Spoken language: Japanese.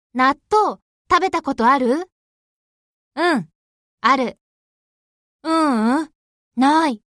納豆、食べたことある？ うん、ある。 ない。